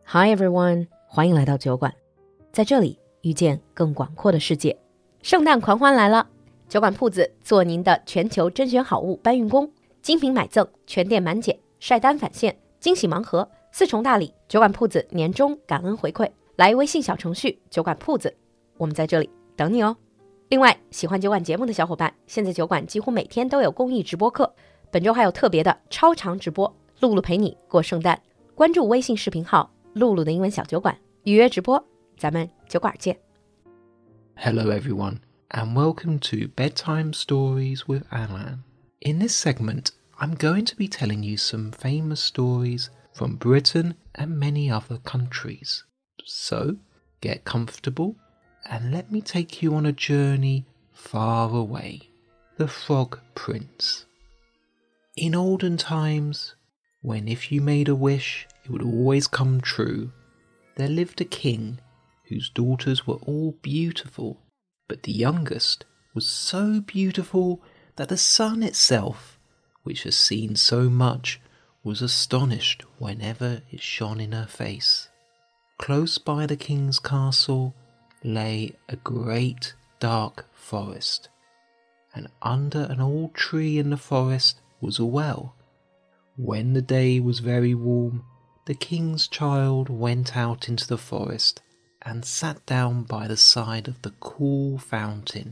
Hi everyone， 欢迎来到酒馆，在这里遇见更广阔的世界。圣诞狂欢来了，酒馆铺子做您的全球甄选好物搬运工，精品买赠，全店满减，晒单返现，惊喜盲盒，4重大礼，酒馆铺子年终感恩回馈，来微信小程序酒馆铺子，我们在这里等你哦。另外，喜欢酒馆节目的小伙伴，现在酒馆几乎每天都有公益直播课，本周还有特别的超长直播，露露陪你过圣诞。关注微信视频号露露的英文小酒馆，预约直播，咱们酒馆见。 Hello everyone, and welcome to Bedtime Stories with Alan. In this segment, I'm going to be telling you some famous stories from Britain and many other countries. So, get comfortable and let me take you on a journey far away. The Frog Prince. In olden times, when if you made a wish, it would always come true, there lived a king whose daughters were all beautiful, but the youngest was so beautiful that the sun itself, which has seen so much, was astonished whenever it shone in her face. Close by the king's castle lay a great dark forest, and under an old tree in the forest was a well. When the day was very warm, the king's child went out into the forest and sat down by the side of the cool fountain.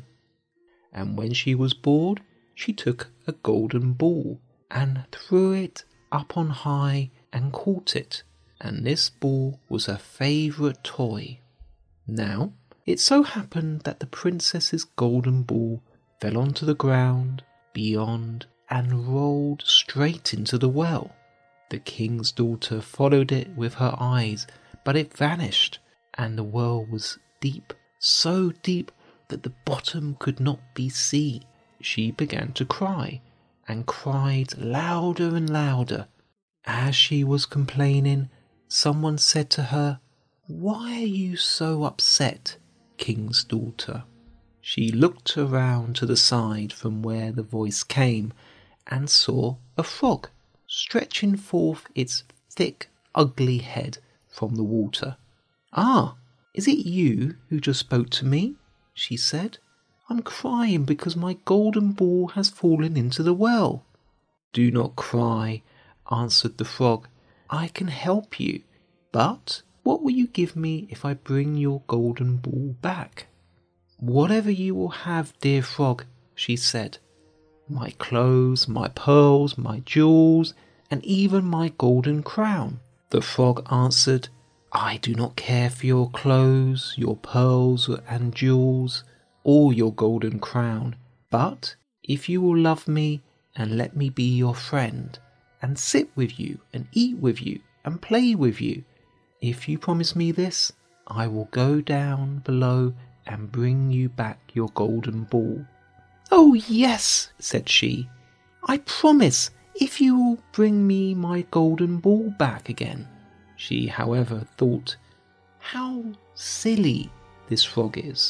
And when she was bored, she took a golden ball and threw it up on high and caught it, and this ball was her favourite toy. Now, it so happened that the princess's golden ball fell onto the ground beyond and rolled straight into the well. The king's daughter followed it with her eyes, but it vanished, and the well was deep, so deep that the bottom could not be seen. She began to cry, and cried louder and louder. As she was complaining, someone said to her, "Why are you so upset, king's daughter?" She looked around to the side from where the voice came, and saw a frog stretching forth its thick, ugly head from the water. "Ah, is it you who just spoke to me?" she said. "I'm crying because my golden ball has fallen into the well." "Do not cry," answered the frog. "I can help you, but what will you give me if I bring your golden ball back?" "Whatever you will have, dear frog," she said. "My clothes, my pearls, my jewels, and even my golden crown." The frog answered, "I do not care for your clothes, your pearls and jewels, or your golden crown, but if you will love me and let me be your friend, and sit with you and eat with you and play with you, if you promise me this, I will go down below and bring you back your golden ball." "Oh yes," said she, "I promise, if you will bring me my golden ball back again." She, however, thought, how silly this frog is.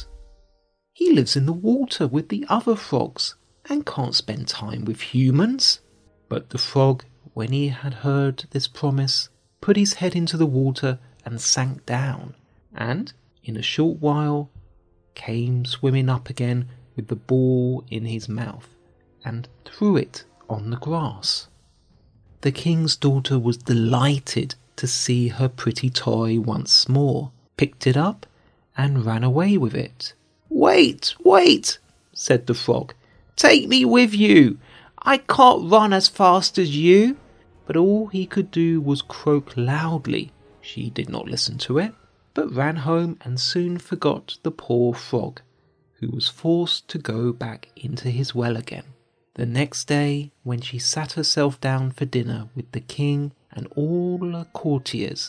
He lives in the water with the other frogs and can't spend time with humans. But the frog, when he had heard this promise, put his head into the water and sank down, and in a short while came swimming up again with the ball in his mouth, and threw it on the grass. The king's daughter was delighted to see her pretty toy once more, picked it up, and ran away with it. "Wait, wait," said the frog. "Take me with you. I can't run as fast as you." But all he could do was croak loudly. She did not listen to it, but ran home and soon forgot the poor frog, who was forced to go back into his well again. The next day, when she sat herself down for dinner with the king and all her courtiers,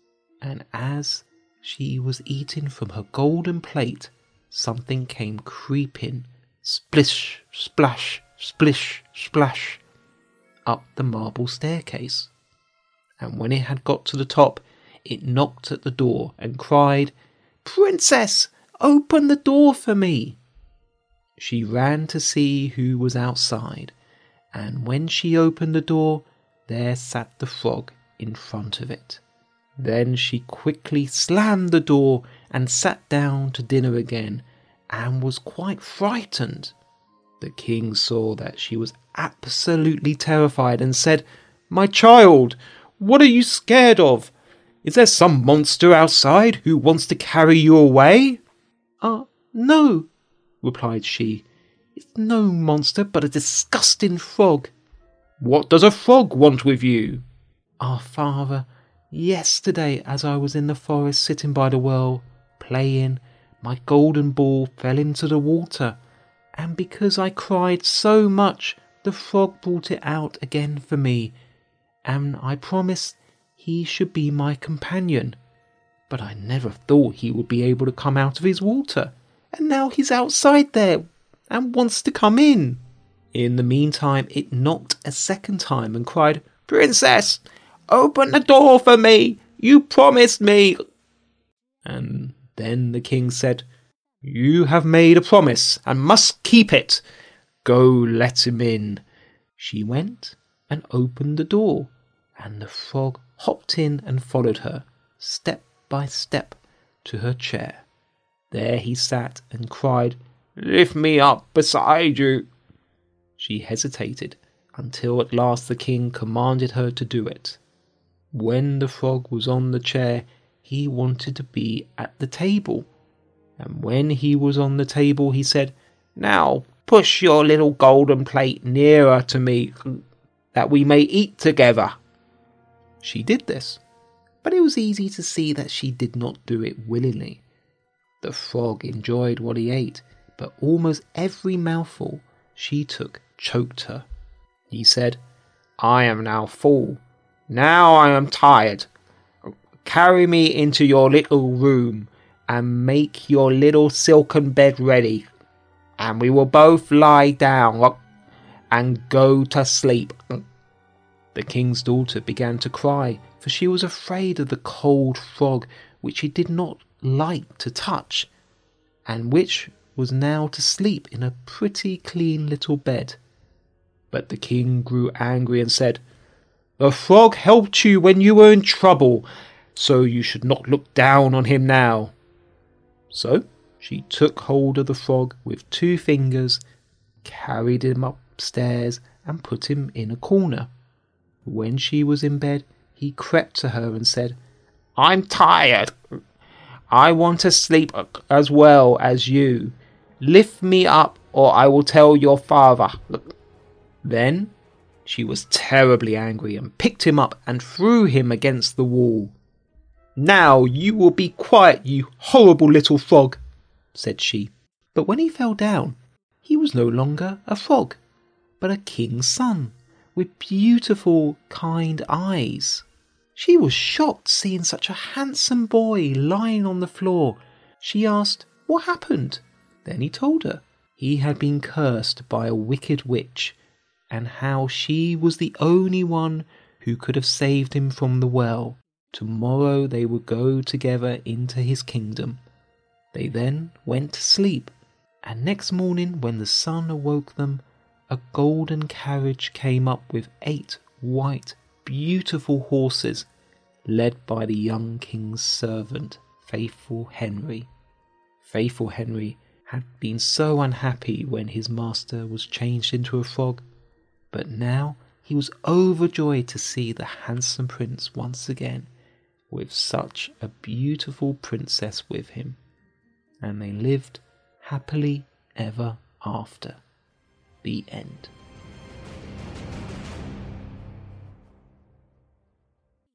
and as she was eating from her golden plate, something came creeping, splish, splash, splish, splash, up the marble staircase. And when it had got to the top, it knocked at the door and cried, "Princess, open the door for me." She ran to see who was outside, and when she opened the door, there sat the frog in front of it. Then she quickly slammed the door and sat down to dinner again, and was quite frightened. The king saw that she was absolutely terrified and said, "My child, what are you scared of? Is there some monster outside who wants to carry you away?" No," replied she. "It's no monster but a disgusting frog." "What does a frog want with you?" Father, yesterday as I was in the forest sitting by the well, playing, my golden ball fell into the water, and because I cried so much, the frog brought it out again for me, and I promised he should be my companion. But I never thought he would be able to come out of his water, and now he's outside there and wants to come in." In the meantime, it knocked a second time and cried, "Princess, open the door for me! You promised me!" And then the king said, "You have made a promise and must keep it. Go, let him in." She went and opened the door, and the frog hopped in and followed her, step by step, to her chair. There he sat and cried, "Lift me up beside you." She hesitated until at last the king commanded her to do it. When the frog was on the chair, he wanted to be at the table. And when he was on the table, he said, "Now push your little golden plate nearer to me, that we may eat together." She did this, but it was easy to see that she did not do it willingly. The frog enjoyed what he ate, but almost every mouthful she took choked her. He said, "I am now full. Now I am tired. Carry me into your little room and make your little silken bed ready, and we will both lie down and go to sleep." The king's daughter began to cry, for she was afraid of the cold frog, which she did not like to touch, and which was now to sleep in a pretty clean little bed. But the king grew angry and said, "The frog helped you when you were in trouble, so you should not look down on him now." So she took hold of the frog with 2 fingers, carried him upstairs and put him in a corner. When she was in bed, he crept to her and said, "I'm tired. I want to sleep as well as you. Lift me up or I will tell your father." Then she was terribly angry and picked him up and threw him against the wall. "Now you will be quiet, you horrible little frog," said she. But when he fell down, he was no longer a frog, but a king's son, with beautiful, kind eyes. She was shocked seeing such a handsome boy lying on the floor. She asked what happened. Then he told her he had been cursed by a wicked witch, and how she was the only one who could have saved him from the well. Tomorrow they would go together into his kingdom. They then went to sleep, and next morning when the sun awoke them, a golden carriage came up with 8 white, beautiful horses, led by the young king's servant, Faithful Henry. Faithful Henry had been so unhappy when his master was changed into a frog, but now he was overjoyed to see the handsome prince once again, with such a beautiful princess with him. And they lived happily ever after. The end.